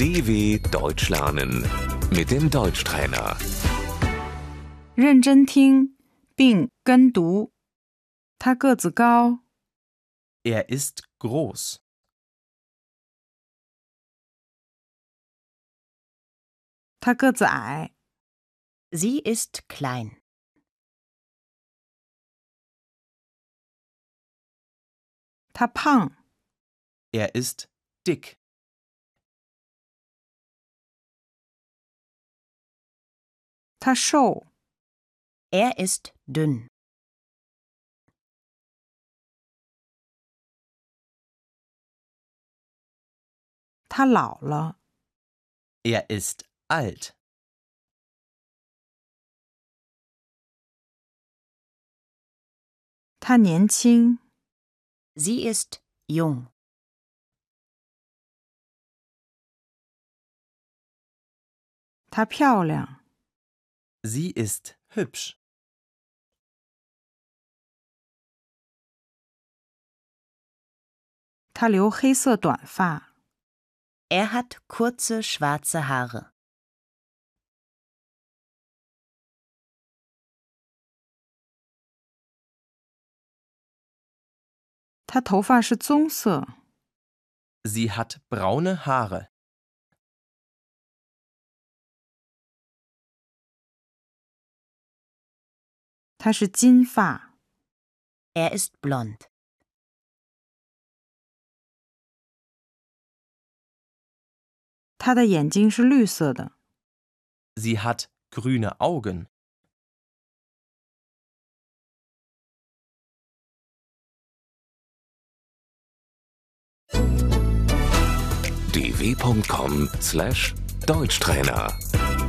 DW Deutsch lernen mit dem Deutschtrainer. 认真听并跟读。他个子高， Er ist groß. 他个子矮， Sie ist klein. 他胖， Er ist dick. 他瘦， Er ist dünn. 他老了， Er ist alt. 他年轻， Sie ist jung. 她漂亮， Sie ist hübsch. 她留黑色短发， Er hat kurze schwarze Haare. 她头发是棕色， Sie hat braune Haare. 她是金发， Er ist blond. 她的眼睛是绿色的。 Sie hat grüne Augen. dw.com/Deutschtrainer